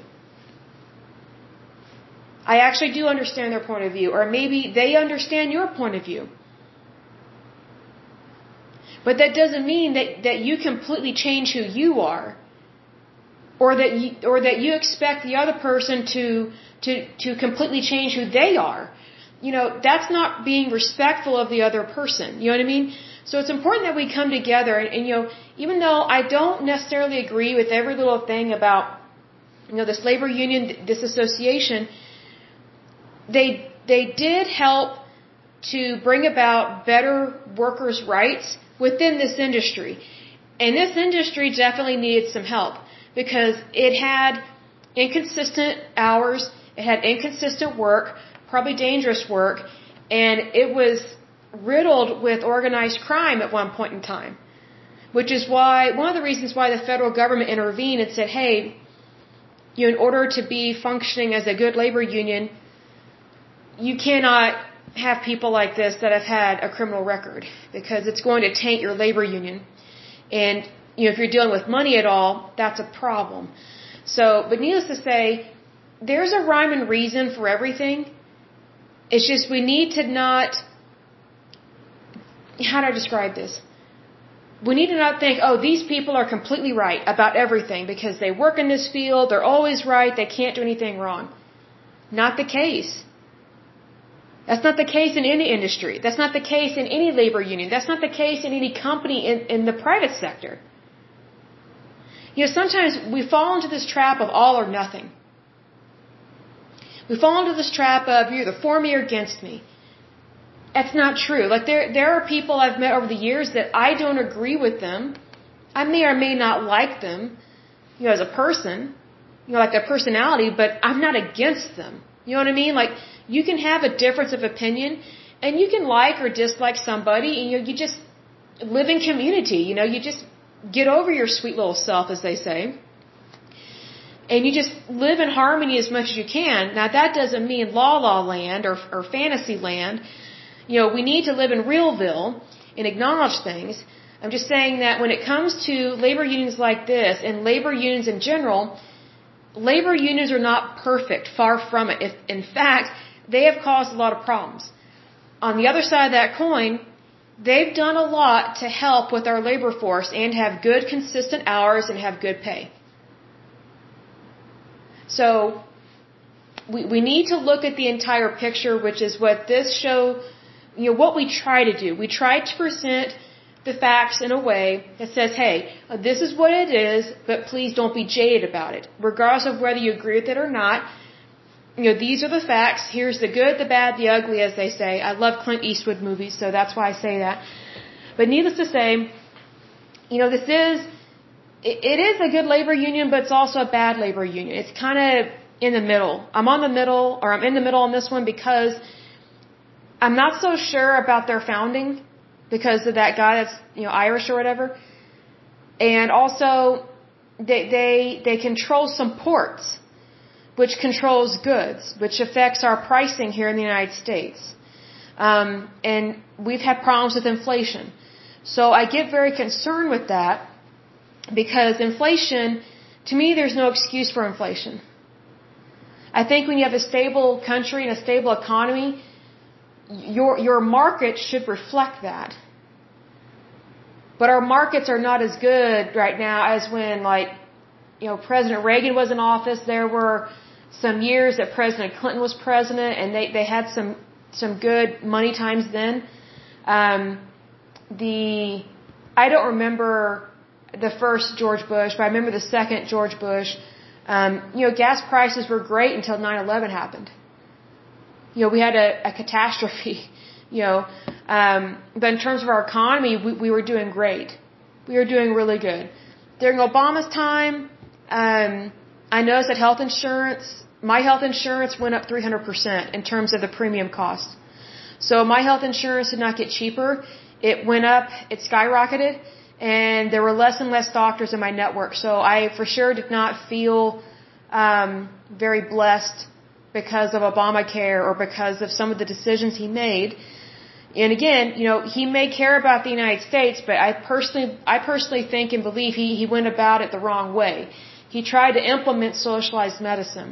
A: I actually do understand their point of view. Or maybe they understand your point of view. But that doesn't mean that, that you completely change who you are. Or that you, or that you expect the other person to, to, to completely change who they are. You know, that's not being respectful of the other person. You know what I mean? So it's important that we come together and, and you know, even though I don't necessarily agree with every little thing about, you know, this labor union, this association, they, they did help to bring about better workers' rights within this industry. And this industry definitely needed some help because it had inconsistent hours, it had inconsistent work, probably dangerous work, and it was riddled with organized crime at one point in time. Which is why, one of the reasons why the federal government intervened and said, hey, you know, in order to be functioning as a good labor union, you cannot have people like this that have had a criminal record because it's going to taint your labor union. And, you know, if you're dealing with money at all, that's a problem. So, but needless to say, there's a rhyme and reason for everything. It's just we need to not, how do I describe this? We need to not think, oh, these people are completely right about everything because they work in this field, they're always right, they can't do anything wrong. Not the case. That's not the case in any industry. That's not the case in any labor union. That's not the case in any company in, in the private sector. You know, sometimes we fall into this trap of all or nothing. We fall into this trap of you're either for me or against me. That's not true. Like there, there are people I've met over the years that I don't agree with them. I may or may not like them, you know, as a person, you know, like their personality, but I'm not against them. You know what I mean? Like you can have a difference of opinion, and you can like or dislike somebody, and you know, you just live in community. You know, you just get over your sweet little self, as they say. And you just live in harmony as much as you can. Now, that doesn't mean la-la land or, or fantasy land. You know, we need to live in realville and acknowledge things. I'm just saying that when it comes to labor unions like this and labor unions in general, labor unions are not perfect, far from it. If, in fact, they have caused a lot of problems. On the other side of that coin, they've done a lot to help with our labor force and have good, consistent hours and have good pay. So, we, we need to look at the entire picture, which is what this show, you know, what we try to do. We try to present the facts in a way that says, hey, this is what it is, but please don't be jaded about it. Regardless of whether you agree with it or not, you know, these are the facts. Here's the good, the bad, the ugly, as they say. I love Clint Eastwood movies, so that's why I say that. But needless to say, you know, this is, it is a good labor union, but it's also a bad labor union. It's kind of in the middle. I'm on the middle, or I'm in the middle on this one because I'm not so sure about their founding because of that guy that's, you know, Irish or whatever. And also, they, they, they control some ports, which controls goods, which affects our pricing here in the United States. Um, and we've had problems with inflation. So I get very concerned with that because inflation, to me, there's no excuse for inflation. I think when you have a stable country and a stable economy, your, your market should reflect that. But our markets are not as good right now as when, like, you know, President Reagan was in office. There were some years that President Clinton was president, and they, they had some, some good money times then. Um, the, I don't remember the first George Bush, but I remember the second George Bush. Um, you know, gas prices were great until nine eleven happened. You know, we had a, a catastrophe, you know. Um, but in terms of our economy, we, we were doing great. We were doing really good. During Obama's time, um, I noticed that health insurance, my health insurance went up three hundred percent in terms of the premium cost. So my health insurance did not get cheaper. It went up, it skyrocketed, and there were less and less doctors in my network. So I for sure did not feel um, very blessed because of Obamacare or because of some of the decisions he made. And again, you know, he may care about the United States, but I personally, I personally think and believe he, he went about it the wrong way. He tried to implement socialized medicine.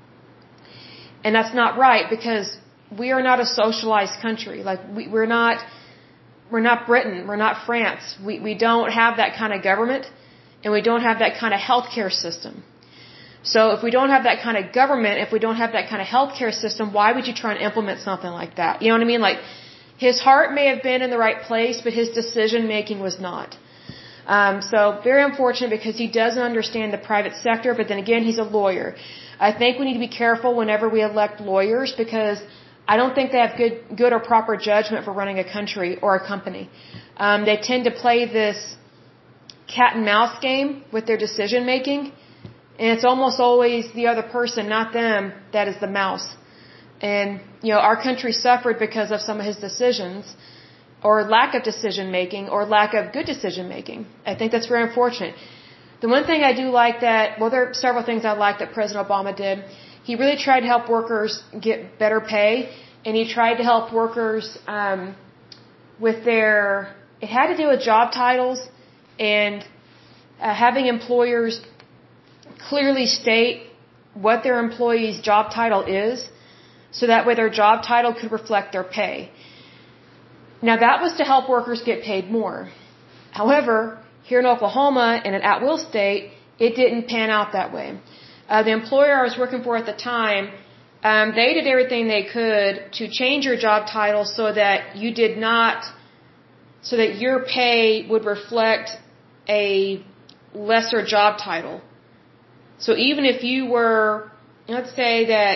A: And that's not right, because we are not a socialized country. Like, we, we're not, we're not Britain, we're not France. We, we don't have that kind of government, and we don't have that kind of healthcare system. So if we don't have that kind of government, if we don't have that kind of healthcare system, why would you try and implement something like that? You know what I mean? Like, his heart may have been in the right place, but his decision making was not. Um, so very unfortunate, because he doesn't understand the private sector, but then again, he's a lawyer. I think we need to be careful whenever we elect lawyers, because I don't think they have good, good or proper judgment for running a country or a company. Um, they tend to play this cat and mouse game with their decision making, and it's almost always the other person, not them, that is the mouse. And, you know, our country suffered because of some of his decisions, or lack of decision making, or lack of good decision making. I think that's very unfortunate. The one thing I do like that, well, there are several things I like that President Obama did. He really tried to help workers get better pay, and he tried to help workers um, with their, it had to do with job titles, and uh, having employers clearly state what their employee's job title is, so that way their job title could reflect their pay. Now, that was to help workers get paid more. However, here in Oklahoma, in an at-will state, it didn't pan out that way. Uh, the employer I was working for at the time, um, they did everything they could to change your job title so that you did not, so that your pay would reflect a lesser job title. So even if you were, let's say that,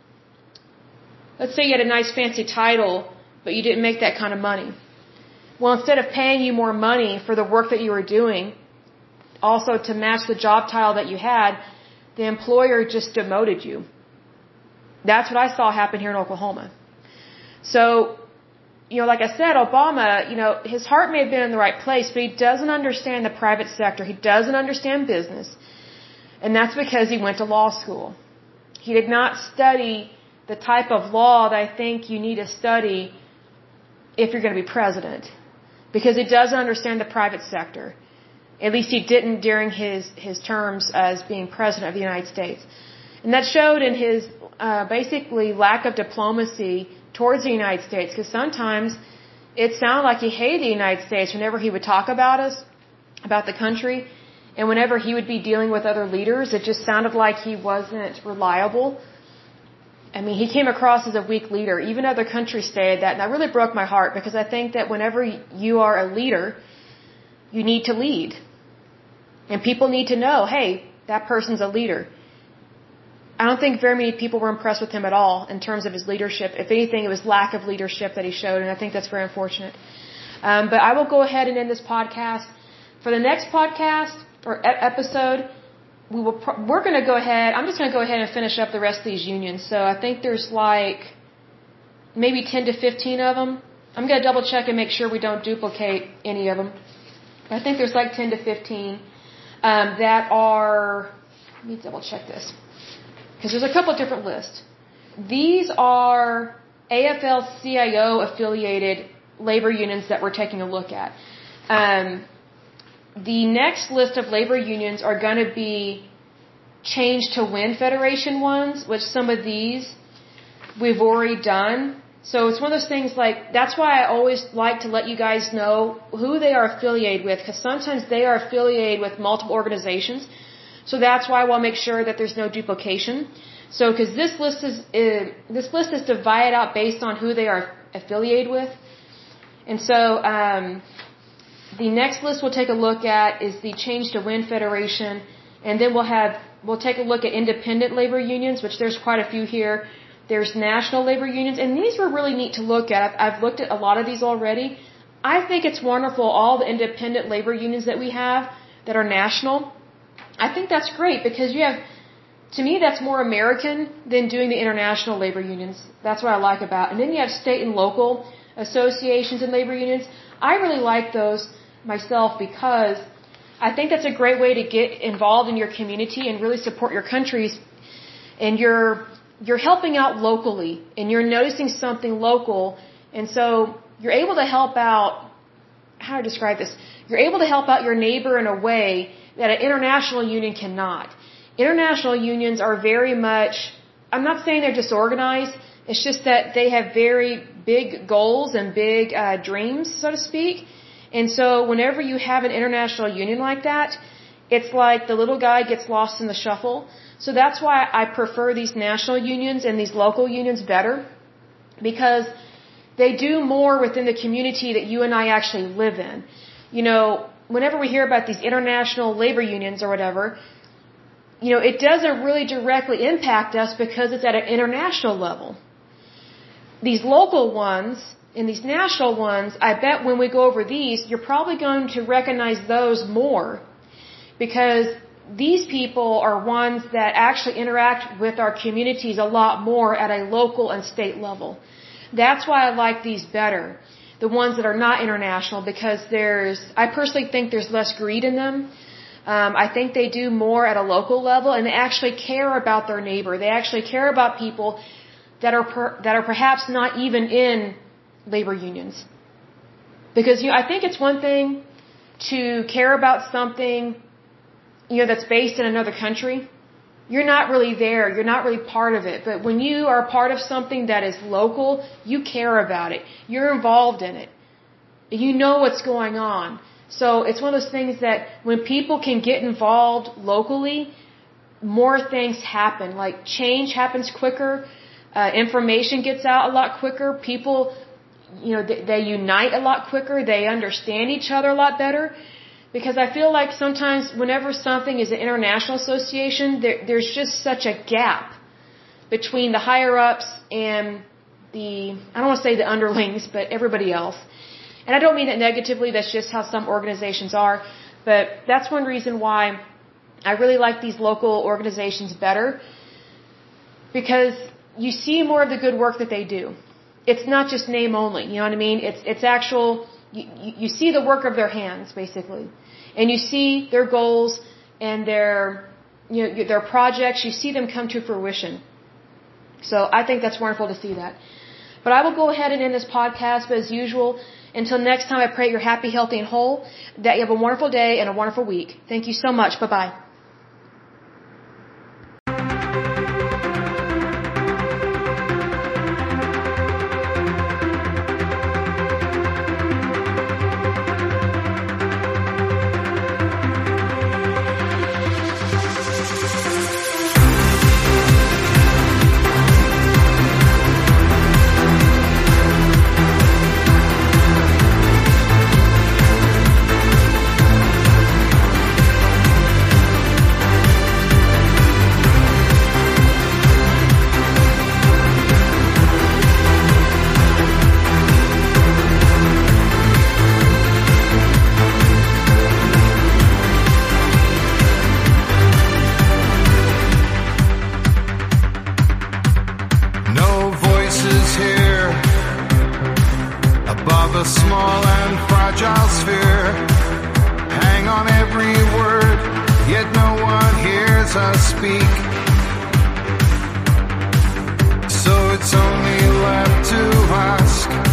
A: let's say you had a nice fancy title, but you didn't make that kind of money. Well, instead of paying you more money for the work that you were doing, also to match the job title that you had, the employer just demoted you. That's what I saw happen here in Oklahoma. So, you know, like I said, Obama, you know, his heart may have been in the right place, but he doesn't understand the private sector. He doesn't understand business. And that's because he went to law school. He did not study the type of law that I think you need to study if you're going to be president, because he doesn't understand the private sector. At least he didn't during his, his terms as being president of the United States. And that showed in his uh, basically lack of diplomacy towards the United States, because sometimes it sounded like he hated the United States whenever he would talk about us, about the country, and whenever he would be dealing with other leaders, it just sounded like he wasn't reliable. I mean, he came across as a weak leader. Even other countries stated that, and that really broke my heart, because I think that whenever you are a leader, you need to lead. And people need to know, hey, that person's a leader. I don't think very many people were impressed with him at all in terms of his leadership. If anything, it was lack of leadership that he showed, and I think that's very unfortunate. Um, but I will go ahead and end this podcast. For the next podcast or e- episode, we will. Pro- we're going to go ahead. I'm just going to go ahead and finish up the rest of these unions. So I think there's like maybe ten to fifteen of them. I'm going to double check and make sure we don't duplicate any of them. I think there's like ten to fifteen um, that are. Let me double check this, because there's a couple of different lists. These are A F L C I O affiliated labor unions that we're taking a look at. Um, the next list of labor unions are going to be changed to Win Federation ones, which some of these we've already done. So it's one of those things like, that's why I always like to let you guys know who they are affiliated with, because sometimes they are affiliated with multiple organizations. So that's why I want to make sure that there's no duplication. So, because this list is uh, this list is divided out based on who they are affiliated with, and so um, the next list we'll take a look at is the Change to Win Federation, and then we'll have we'll take a look at independent labor unions, which there's quite a few here. There's national labor unions, and these were really neat to look at. I've, I've looked at a lot of these already. I think it's wonderful, all the independent labor unions that we have that are national. I think that's great, because you have, to me, that's more American than doing the international labor unions. That's what I like about. And then you have state and local associations and labor unions. I really like those myself, because I think that's a great way to get involved in your community and really support your countries and your you're helping out locally and you're noticing something local. And so you're able to help out, how to describe this? You're able to help out your neighbor in a way that an international union cannot. International unions are very much, I'm not saying they're disorganized, it's just that they have very big goals and big uh, dreams, so to speak. And so whenever you have an international union like that, it's like the little guy gets lost in the shuffle. So that's why I prefer these national unions and these local unions better, because they do more within the community that you and I actually live in. You know, whenever we hear about these international labor unions or whatever, you know, it doesn't really directly impact us because it's at an international level. These local ones and these national ones, I bet when we go over these, you're probably going to recognize those more, because these people are ones that actually interact with our communities a lot more at a local and state level. That's why I like these better, the ones that are not international, because there's, I personally think there's less greed in them. Um, I think they do more at a local level, and they actually care about their neighbor. They actually care about people that are per, that are perhaps not even in labor unions. Because, you know, I think it's one thing to care about something, you know, that's based in another country. You're not really there. You're not really part of it. But when you are part of something that is local, you care about it. You're involved in it. You know what's going on. So it's one of those things that when people can get involved locally, more things happen. Like change happens quicker. Uh, information gets out a lot quicker. People, you know, they, they unite a lot quicker. They understand each other a lot better. Because I feel like sometimes whenever something is an international association, there, there's just such a gap between the higher-ups and the, I don't want to say the underlings, but everybody else. And I don't mean that negatively, that's just how some organizations are. But that's one reason why I really like these local organizations better, because you see more of the good work that they do. It's not just name only, you know what I mean? It's, it's actual, you, you see the work of their hands, basically. And you see their goals and their, you know, their projects, you see them come to fruition. So I think that's wonderful to see that. But I will go ahead and end this podcast, but as usual, until next time, I pray you're happy, healthy, and whole, that you have a wonderful day and a wonderful week. Thank you so much. Bye-bye.
B: Above a small and fragile sphere, hang on every word, yet no one hears us speak. So it's only left to ask,